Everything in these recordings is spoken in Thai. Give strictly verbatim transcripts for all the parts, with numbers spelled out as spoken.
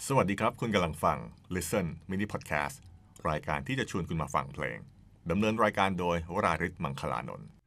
สวัสดีครับคุณกำลังฟัง Listen Mini Podcast รายการที่จะชวนคุณมาฟังเพลงดำเนินรายการโดยวราริศมังคลานนท์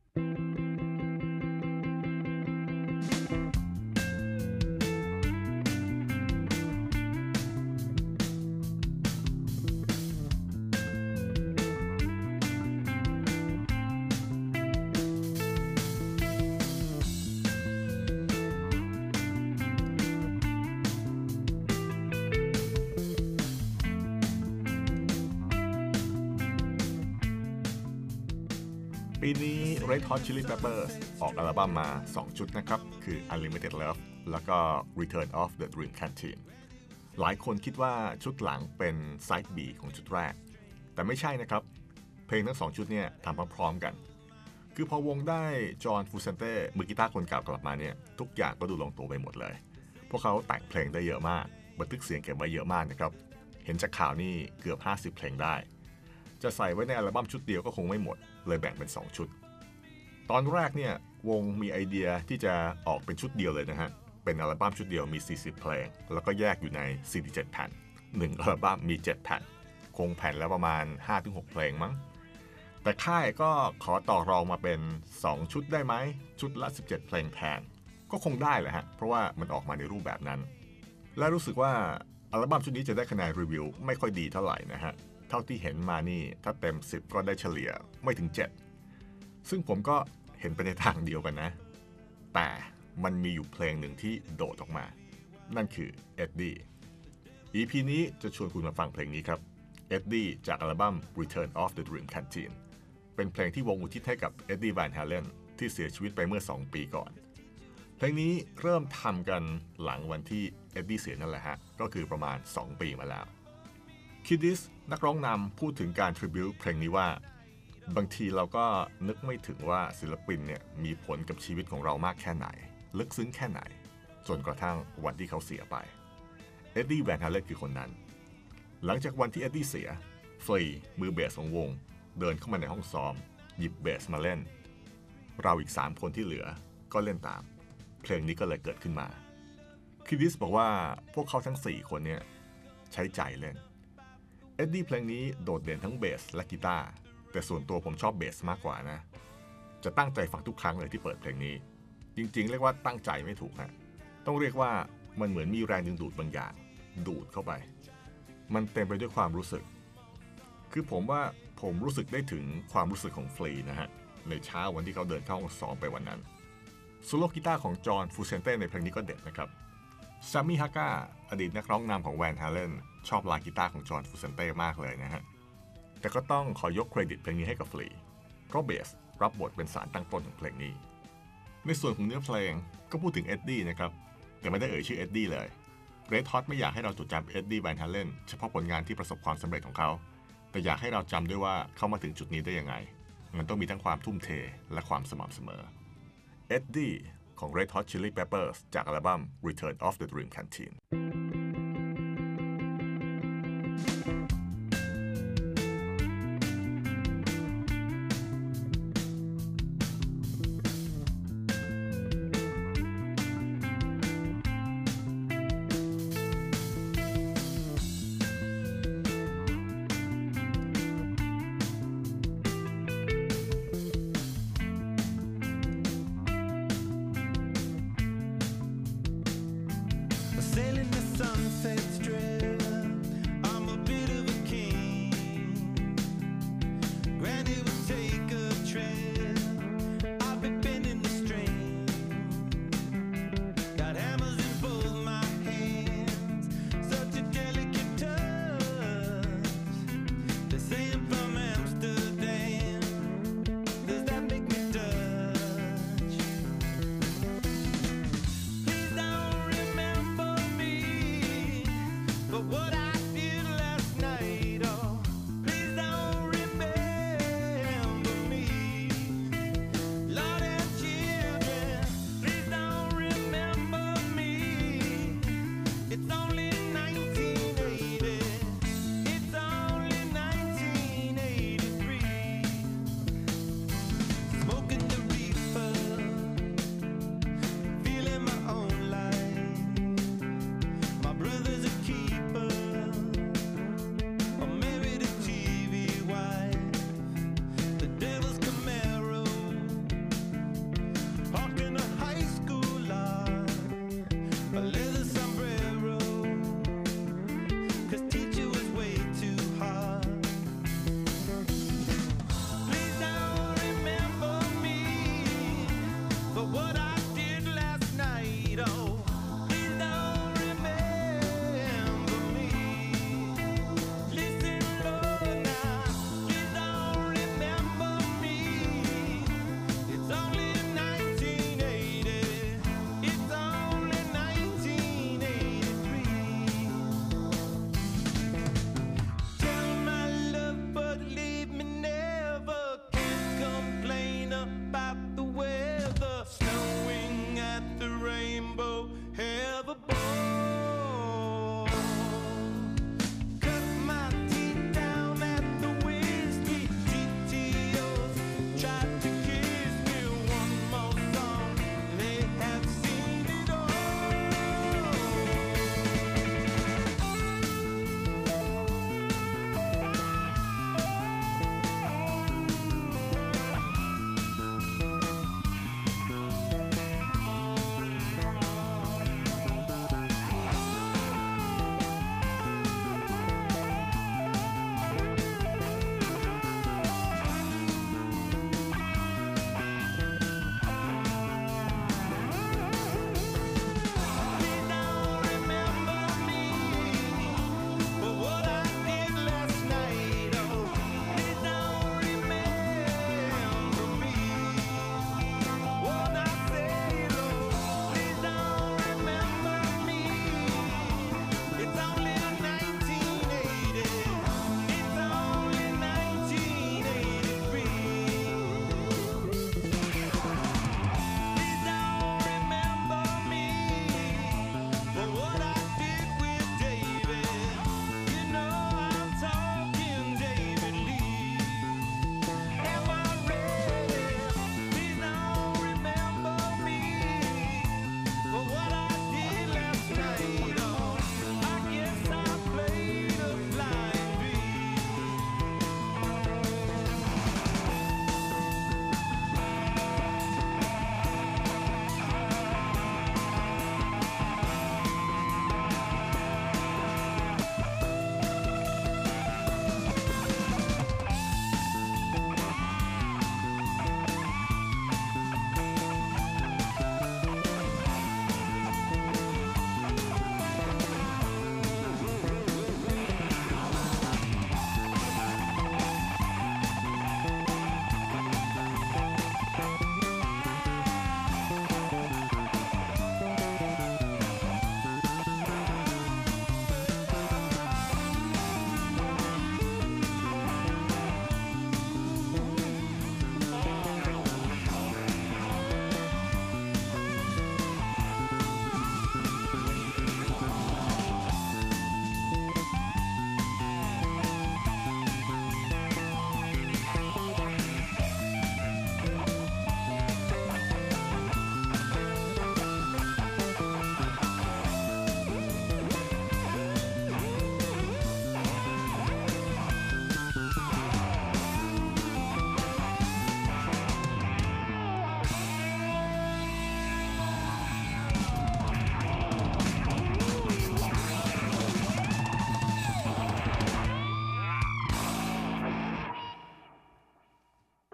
ปีนี้ Red Hot Chili Peppers ออกอัลบั้มมา สอง ชุดนะครับคือ Unlimited Love แล้วก็ Return of the Dream Canteen หลายคนคิดว่าชุดหลังเป็น Side B ของชุดแรกแต่ไม่ใช่นะครับเพลงทั้งสองชุดเนี่ยทำพร้อมๆกันคือพอวงได้จอห์นฟูเซนเต้มือกีตาร์คนเก่ากลับมาเนี่ยทุกอย่างก็ดูลงตัวไปหมดเลยพวกเขาแต่งเพลงได้เยอะมากบันทึกเสียงเก็บไว้เยอะมากนะครับเห็นจากข่าวนี่เกือบห้าสิบเพลงได้จะใส่ไว้ในอัลบั้มชุดเดียวก็คงไม่หมดเลยแบ่งเป็นสองชุดตอนแรกเนี่ยวงมีไอเดียที่จะออกเป็นชุดเดียวเลยนะฮะเป็นอัลบั้มชุดเดียวมีสี่สิบเพลงแล้วก็แยกอยู่ในสี่สิบเจ็ดแผ่นหนึ่งอัลบั้มมีเจ็ดแผ่นคงแผ่นแล้วประมาณ ห้าถึงหก เพลงมั้งแต่ค่ายก็ขอต่อรองมาเป็นสองชุดได้ไหมชุดละสิบเจ็ดเพลงแทนก็คงได้แหละฮะเพราะว่ามันออกมาในรูปแบบนั้นและรู้สึกว่าอัลบั้มชุดนี้จะได้คะแนนรีวิวไม่ค่อยดีเท่าไหร่นะฮะเท่าที่เห็นมานี่ถ้าเต็มสิบก็ได้เฉลี่ยไม่ถึงเจ็ดซึ่งผมก็เห็นไปในทางเดียวกันนะแต่มันมีอยู่เพลงหนึ่งที่โดดออกมานั่นคือเอ็ดดี้ อี พี นี้จะชวนคุณมาฟังเพลงนี้ครับเอ็ดดี้จากอัลบั้ม Return of the Dream Canteen เป็นเพลงที่วงอุทิศให้กับเอ็ดดี้ แวนฮาเลนที่เสียชีวิตไปเมื่อสองปีก่อนเพลงนี้เริ่มทำกันหลังวันที่เอ็ดดี้เสียนั่นแหละฮะก็คือประมาณสองปีมาแล้วคิดดิสนักร้องนำพูดถึงการทริบิวต์เพลงนี้ว่าบางทีเราก็นึกไม่ถึงว่าศิลปินเนี่ยมีผลกับชีวิตของเรามากแค่ไหนลึกซึ้งแค่ไหนจนกระทั่งวันที่เขาเสียไปเอ็ดดี้ แวนฮาเลนคือคนนั้นหลังจากวันที่เอ็ดดี้เสียเฟยมือเบสของวงเดินเข้ามาในห้องซ้อมหยิบเบสมาเล่นเราอีกสามคนที่เหลือก็เล่นตามเพลงนี้ก็เลยเกิดขึ้นมาคิดดิสบอกว่าพวกเขาทั้งสี่คนเนี่ยใช้ใจเล่นเอ็ดดี้เพลงนี้โดดเด่นทั้งเบสและกีตาร์แต่ส่วนตัวผมชอบเบสมากกว่านะจะตั้งใจฟังทุกครั้งเลยที่เปิดเพลงนี้จริงๆเรียกว่าตั้งใจไม่ถูกฮะต้องเรียกว่ามันเหมือนมีแรงดึงดูดบางอย่างดูดเข้าไปมันเต็มไปด้วยความรู้สึกคือผมว่าผมรู้สึกได้ถึงความรู้สึกของฟรีนะฮะในเช้าวันที่เขาเดินเข้าห้องซ้อมไปวันนั้นโซโล่กีตาร์ของจอห์นฟูเซนเต้ในเพลงนี้ก็เด็ดนะครับซามิฮาก้าอดีตนักร้องนำของแวนฮาเลนชอบลายกีตาร์ของจอห์นฟูเซนเต้มากเลยนะฮะแต่ก็ต้องขอยกเครดิตเพลงนี้ให้กับฟลีเพราะเบสรับบทเป็นสารตั้งต้นของเพลงนี้ในส่วนของเนื้อเพลงก็พูดถึงเอ็ดดี้นะครับแต่ไม่ได้เอ่ยชื่อเอ็ดดี้เลยเรดฮอตไม่อยากให้เราจดจำเอ็ดดี้แวนฮาเลนเฉพาะผลงานที่ประสบความสำเร็จของเขาแต่อยากให้เราจำด้วยว่าเขามาถึงจุดนี้ได้ยังไงมันต้องมีทั้งความทุ่มเทและความสม่ำเสมอเอ็ดดี้ของ Red Hot Chili Peppers จากอัลบั้ม Return of the Dream Canteen